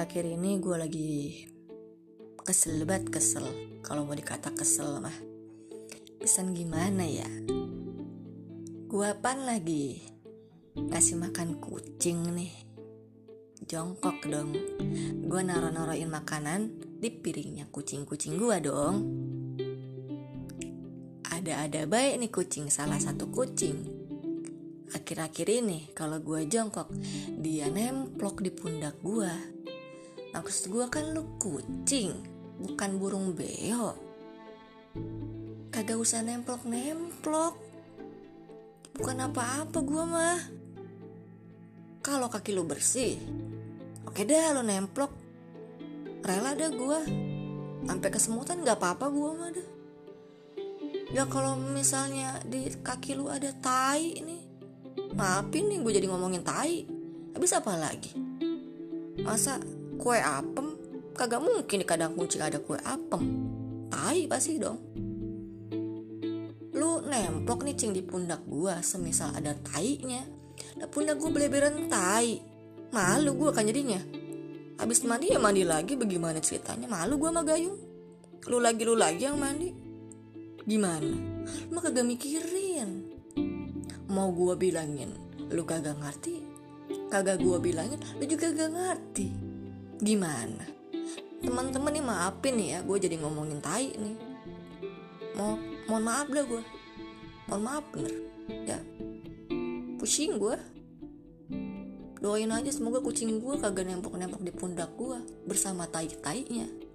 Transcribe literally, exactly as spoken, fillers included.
akhir-akhir ini gue lagi kesel banget, kesel. Kalau mau dikata kesel mah pesan gimana ya? Gue pan lagi ngasih makan kucing nih, jongkok dong. Gue naro-naroin makanan di piringnya kucing-kucing gue dong. Ada-ada baik nih kucing, salah satu kucing akhir-akhir ini kalau gue jongkok dia nemplok di pundak gue. Maksud gue kan lu kucing, bukan burung beo. Kagak usah nemplok-nemplok. Bukan apa-apa gue mah. Kalau kaki lu bersih, oke dah lu nemplok. Rela dah gue. Sampai kesemutan gak apa-apa gue mah dah. Ya kalau misalnya di kaki lu ada tai nih, maafin nih gue jadi ngomongin tai. Habis apa lagi? Masa kue apem? Kagak mungkin di kandang kucing ada kue apem. Tai pasti dong. Lu nemplok nih cing di pundak gue, semisal ada tainya. Nah pundak gue beleberan tai. Malu gue kan jadinya. Habis mandi ya mandi lagi, bagaimana ceritanya? Malu gue sama Gayung. Lu lagi lu lagi yang mandi. Gimana? Lu kagak mikirin. Mau gue bilangin lu kagak ngerti, kagak gue bilangin lu juga kagak ngerti. Gimana? Teman-teman nih maafin nih ya, gue jadi ngomongin tai nih. Mau mohon maaf dah gue. Mohon maaf bener. Ya. Pusing gue. Doain aja semoga kucing gue kagak nempok-nempok di pundak gue bersama tai-tainya.